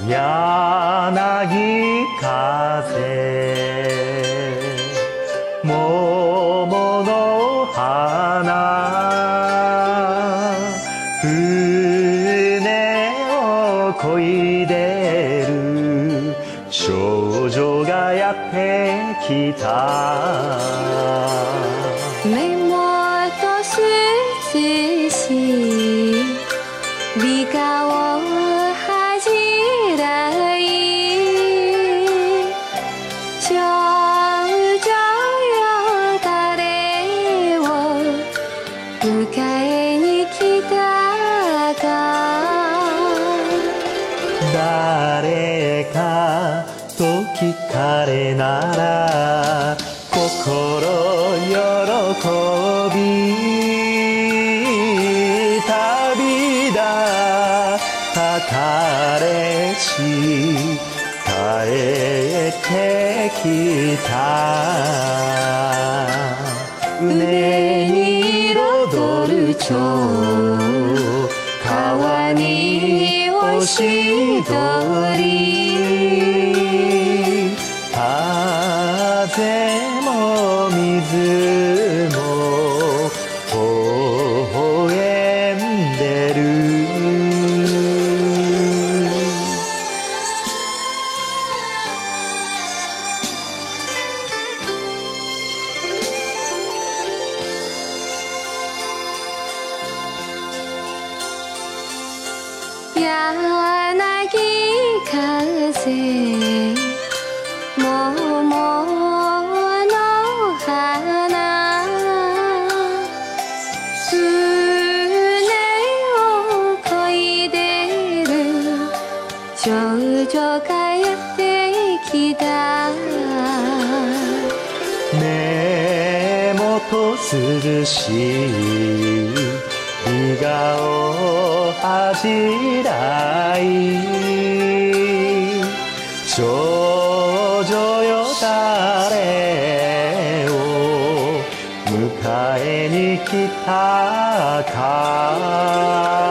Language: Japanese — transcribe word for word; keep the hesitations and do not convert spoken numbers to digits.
柳風桃の花船を漕いでる少女がやってきた目元涼しい美顔恥じらい少女よ誰を迎えに来たか誰かと聞かれなら心喜び旅立った彼氏帰ってきた船に彩る蝶川におしどり風も水も微笑んでる柳風桃の花船を漕いでる少女がやってきた目元涼しい笑顔恥じらい少女よ誰を迎えに来たか